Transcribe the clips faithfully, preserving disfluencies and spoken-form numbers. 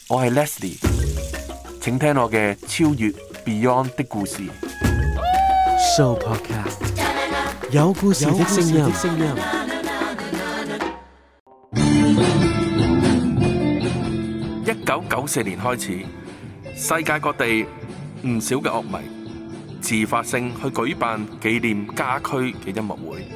我係 Leslie， 請聽我嘅超越 Beyond 的故事。 Show Podcast 有故事的聲音。 一九九四年開始，世界各地唔少嘅樂迷自發性去舉辦紀念家駒嘅音樂會。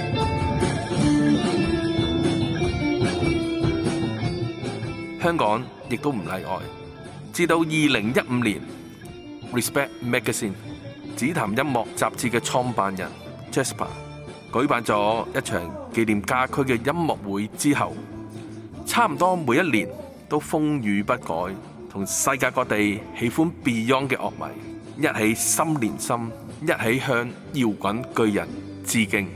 香港亦都唔例外。至到二零一五年 ，Respect Magazine 紫檀音樂雜誌嘅創辦人 Jasper 舉辦咗一場紀念家駒嘅音樂會之後，差唔多每一年都風雨不改，同世界各地喜歡 Beyond 嘅樂迷一起心連心，一起向搖滾巨人致敬。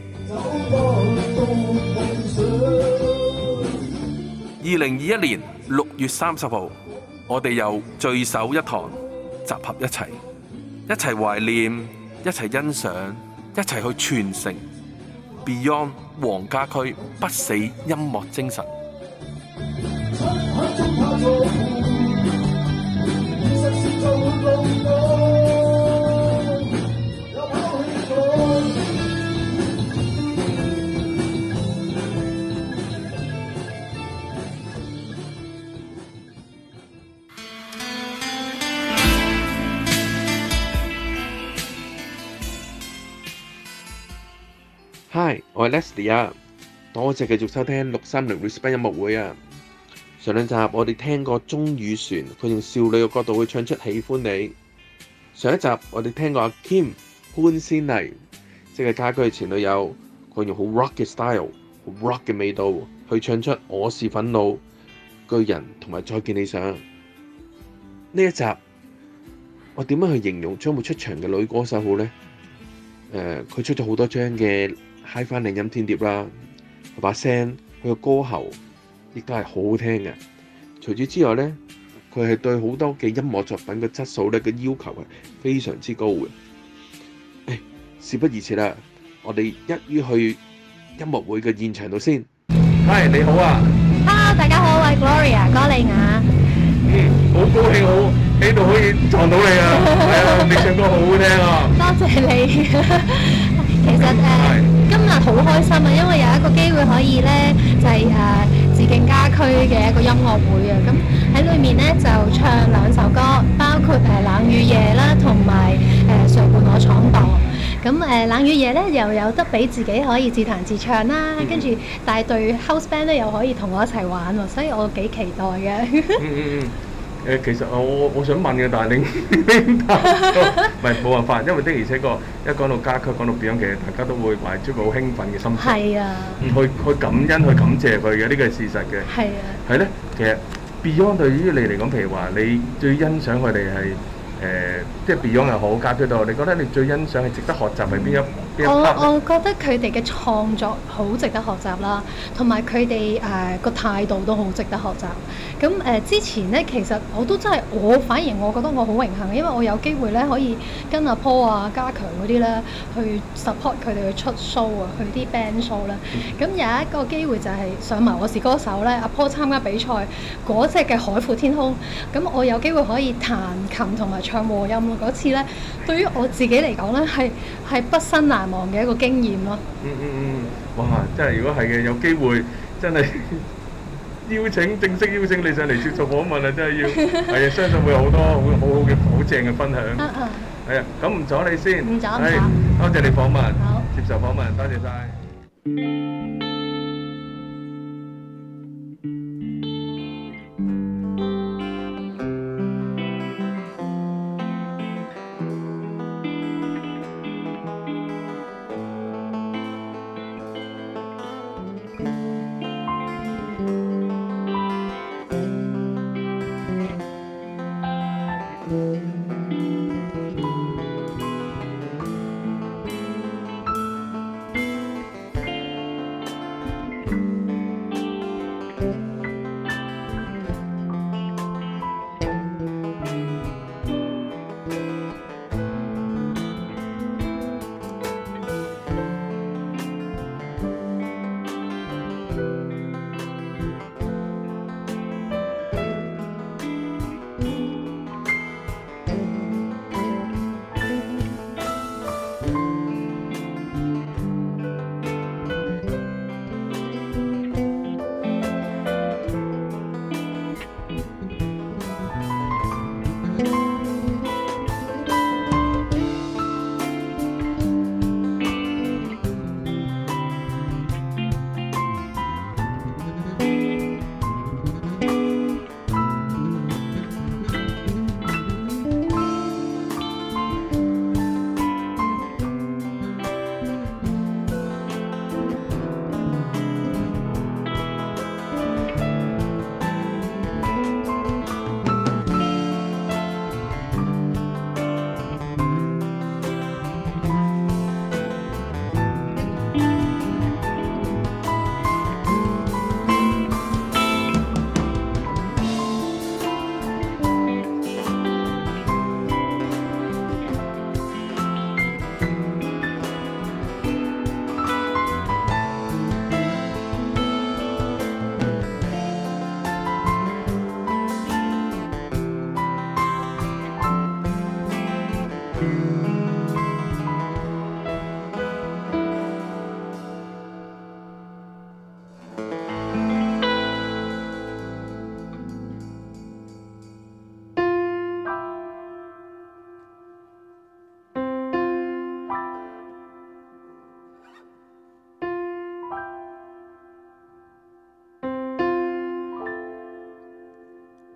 二零二一年六月三十號，我哋又聚首一堂，集合一齊，一齊懷念，一齊欣賞，一齊去傳承 Beyond 黃家駒不死音樂精神。Hi， 我係 Leslie 啊，多謝繼續收聽六三零 Respect 音樂會啊。上兩集我哋聽過鐘宇璇，佢用少女嘅角度去唱出喜歡你。上一集我哋聽過阿 Kim 潘仙妮，即係家駒嘅前女友，佢用好 rock 嘅 style， 好 rock 嘅味道去唱出我是憤怒、巨人同埋再見理想。呢一集我點樣去形容將會出場嘅女歌手好呢？誒、呃，佢出咗好多張嘅 Hi-Fi 靚音天碟啦，佢把聲，佢個歌喉亦都係好好聽嘅。除此之外呢，佢係對好多嘅音樂作品嘅質素咧嘅要求係非常之高嘅。誒，事不宜遲啦，我哋一於去音樂會嘅現場度先。Hi， 你好啊 ！Hello， 大家好，我係 Gloria 歌莉雅。 嗯，好高興，好喺度可以撞到你啊！係啊，你唱歌好好聽啊！ 多謝你。其實誒、呃，今日好開心啊，因為有一個機會可以咧，就係、是、誒、呃、致敬家駒嘅一個音樂會啊。咁喺裏面咧就唱兩首歌，包括誒、呃、冷雨夜啦，同埋誒誰伴我闖蕩。咁誒、呃、冷雨夜咧又有得俾自己可以自彈自唱啦，跟住帶隊 house band 咧又可以同我一齊玩喎，所以我幾期待嘅。 嗯嗯嗯。誒，其實我我想問嘅，但係你你答唔係冇辦法，因為的而且確一講到家駒，講到 Beyond，其實大家都會懷住個好興奮嘅心情。 係啊。 去去感恩，去感謝佢嘅，呢個係事實嘅。 係啊。係咧，其實 Beyond 對於你嚟講，譬如話你最欣賞佢哋係誒，即係 Beyond 又好，家駒都好，你覺得你最欣賞係值得學習係邊一邊一 part？ 我我覺得佢哋嘅創作好值得學習啦，同埋佢哋誒個態度都好值得學習。咁誒、呃、之前咧，其實我都真係我反而我覺得我好榮幸，因為我有機會咧可以跟阿 Paul 啊、家強嗰啲咧去 support 佢哋去出 show 啊，去啲 band show 啦。咁、嗯、有一個機會就係上埋我是歌手咧，阿 Paul 參加比賽嗰隻嘅海闊天空，咁我有機會可以彈琴同埋唱和音咯。嗰次咧，對於我自己嚟講咧，係係畢生難忘嘅一個經驗咯。 嗯嗯嗯，哇！真係如果係嘅，有機會真係〜邀請正式邀請你上嚟接受訪問啊！真係要係啊，相信會有好多好好好嘅好正嘅分享。係啊，咁唔阻你先。 唔阻唔阻。多謝你訪問。 好。 接受訪問，多謝晒。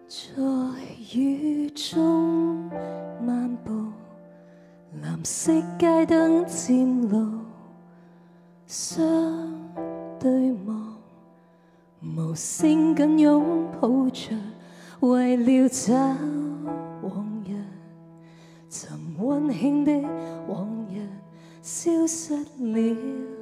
在雨中漫步，藍色街燈漸露，相對望，無聲緊擁抱着，為了找往日，尋溫馨的往日消失了。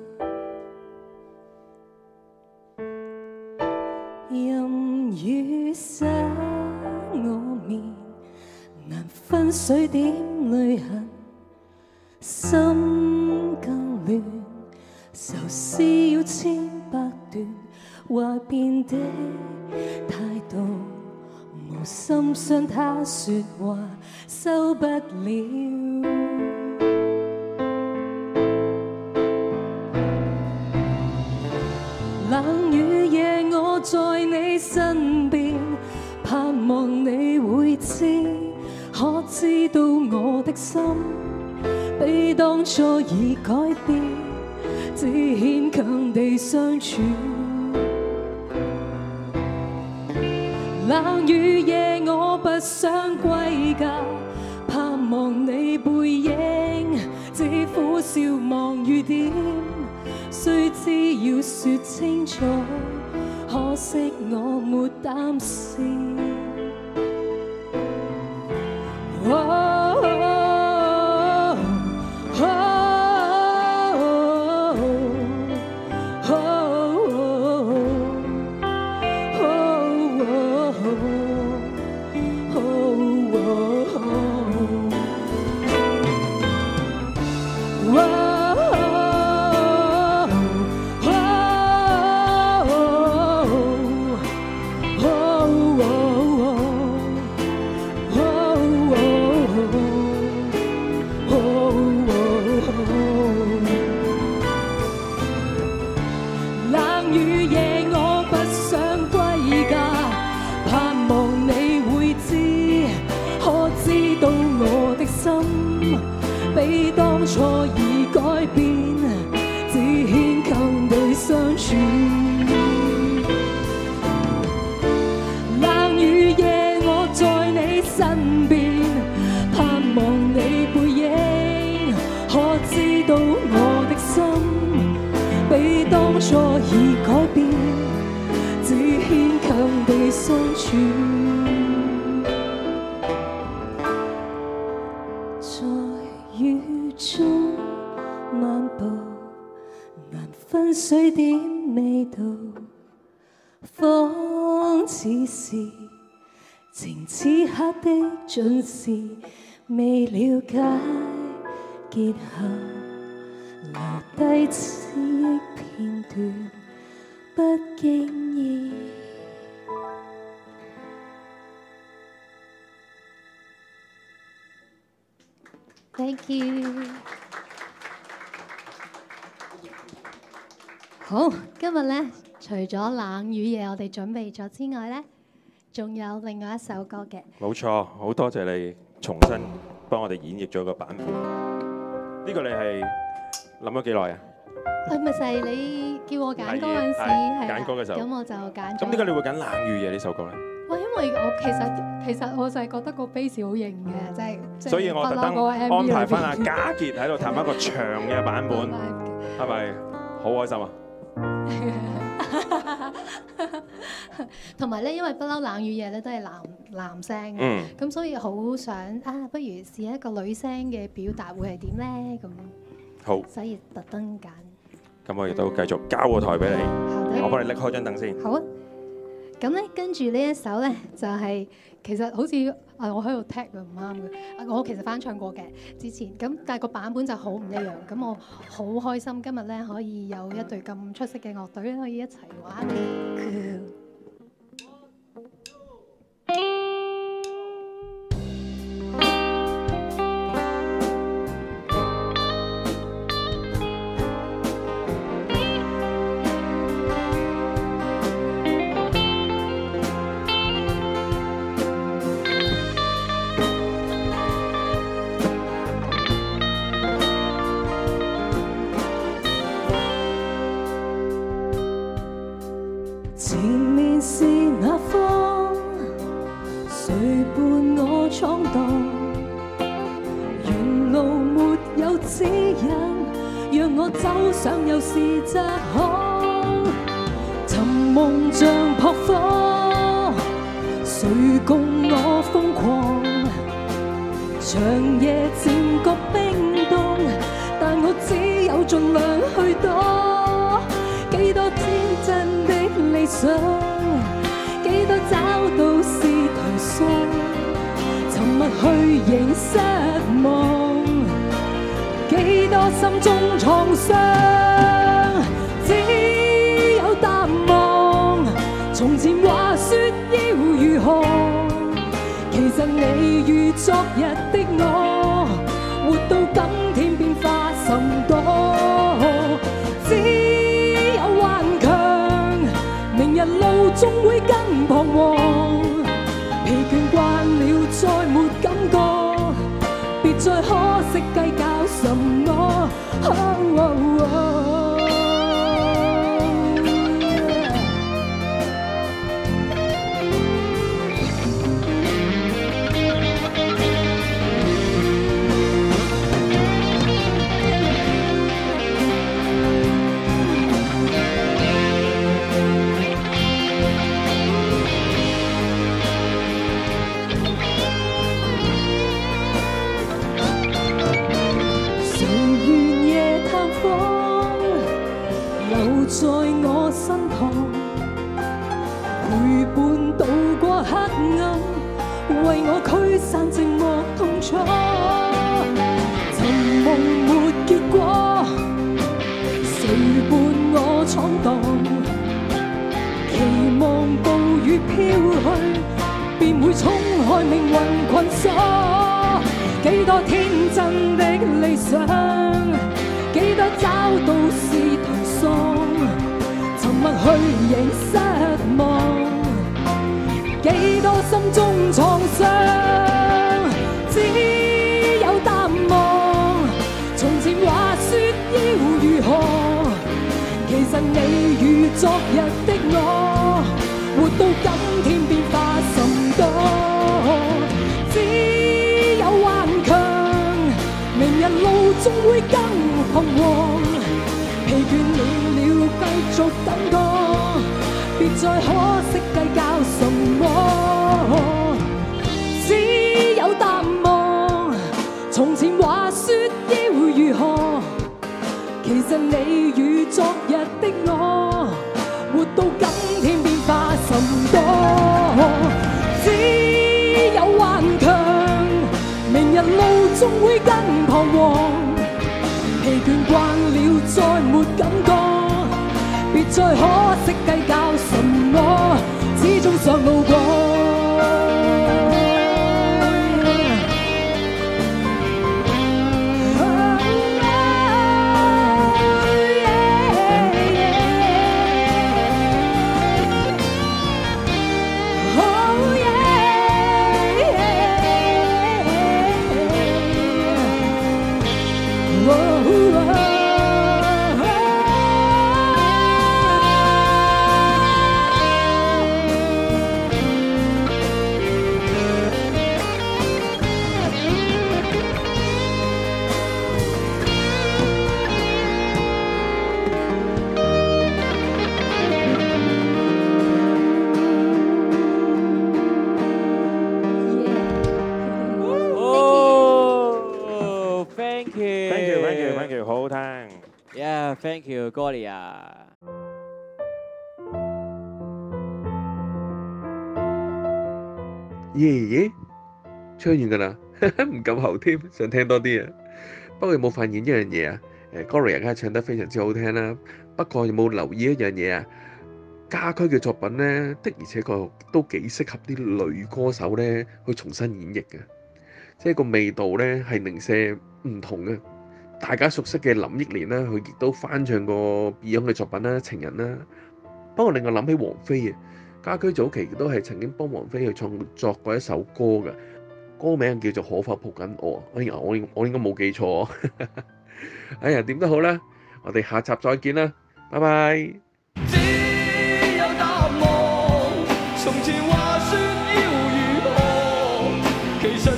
任雨灑我面，難分水點淚痕，心更亂，愁思要千百段，話變的態度，無心傷他說話收不了。冷雨夜我在你身邊，盼望你會知，可知道我的心比當初已改變，只牽強地相處。冷雨夜我不想歸家，盼望你背影，只苦笑望雨點，雖知要說清楚，可惜我沒膽試。哦比當初已改變，只牽強地相處。冷雨夜我在你身邊，盼望你背影，可知道我的心比當初已改變，只牽強地相處。中漫步，難分水點味道，仿似是情此刻的盡是，未了解結合，留低記憶片段，不經意。 Thank you。好，今日咧，除咗冷雨夜我哋準備咗之外咧，仲有另外一首歌嘅。 冇錯，好多謝你重新幫我哋演繹咗個版本。呢個你係諗咗幾耐啊？ 誒，咪就係你叫我揀歌嗰陣時，係揀歌嘅時候， 咁我就揀咗。 咁點解你會揀冷雨夜呢首歌咧？ 喂，因為我其實其實我就係覺得個 bass 好型嘅，即係即係所以我特登安排翻阿家傑喺度彈一個長嘅版本，係咪好開心啊？ 同埋咧，因為不嬲冷雨夜咧都係男男聲嘅，咁、嗯、所以好想啊，不如試一個女聲嘅表達會係點咧？咁好， 所以特登揀。 咁我亦都繼續交個台俾你，我幫你拎開張凳先。 好啊。咁咧，跟住呢一首咧，就係、是、其實好似啊，我喺度踢佢唔啱嘅。我其實翻唱過嘅之前，咁但係個版本就好唔一樣。咁我好開心今日咧可以有一隊咁出色嘅樂隊咧，可以一齊玩。 前面闖蕩，沿路沒有指引，讓我走上又是窄巷，尋夢像撲火，誰共我瘋狂？長夜漸覺冰凍，但我只有盡量去躲。幾多天真的理想，幾多找到是頹喪，沉默虛形失望，幾多心中創傷，只有淡忘。從前話說要如何，其實你與昨日的我，活到今天變化甚多。只有頑強，明日路終會更彷徨。疲倦慣了再沒感覺，別再可惜計較什麼。Oh, oh, oh.在我身旁，陪伴渡過黑暗，為我驅散寂寞痛楚。尋夢沒結果，誰伴我闖蕩？期望暴雨飄去，便會衝開命運困鎖。幾多天真的理想，幾多找到是頹喪。沉默虛形失望，幾多心中創傷，只有淡忘。從前話說要如何，其實你與昨日的我，活到今天變化甚多。只有頑強，明日路終會更彷徨。疲倦了了，繼續等過，別再可惜計較什麼。只有淡忘，從前話說要如何，其實你與昨日的我，活到今天變化甚多。只有頑強，明日路終會更彷徨。疲倦慣了，再沒感覺，別再可惜計較什麼，始終想路過。 Thank you, Gloria。 耶耶，唱完㗎啦，唔夠喉添，想聽多啲啊！不過有冇發現一樣嘢啊？誒 Gloria 梗係唱得非常之好聽啦。不過有冇留意一樣嘢啊？家駒嘅作品咧，的而且確都幾適合啲女歌手咧去重新演繹嘅，即係個味道咧係零舍唔同嘅。大家熟悉嘅林憶蓮啦，佢亦都翻唱過 Beyond 嘅作品啦，《情人》啦。不過令我諗起王菲啊，家駒早期都係曾經幫王菲去創作過一首歌嘅，歌名叫做《可否抱緊我》。哎呀，我我應該冇記錯。哎呀，點都好啦，我哋下集再見啦，拜拜。 只有淡忘，從前話說要如何，其實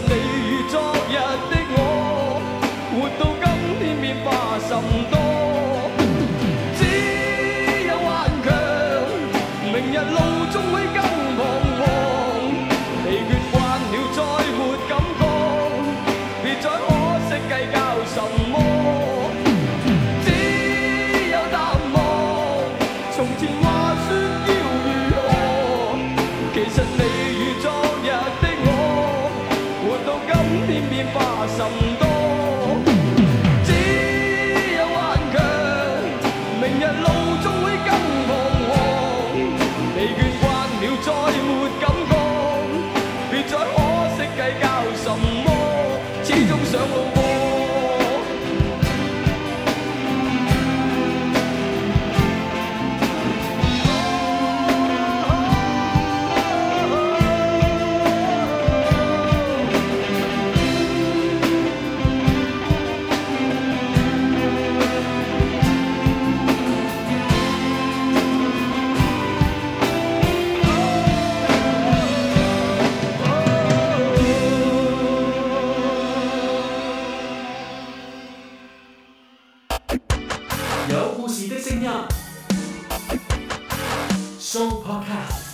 你與昨日的我，活到今天變化甚多。只有頑強，明日路終會更彷徨。疲倦慣了再沒感覺，別再可惜計較什麼，始終上路過。 有故事的聲音 ，Show Podcast。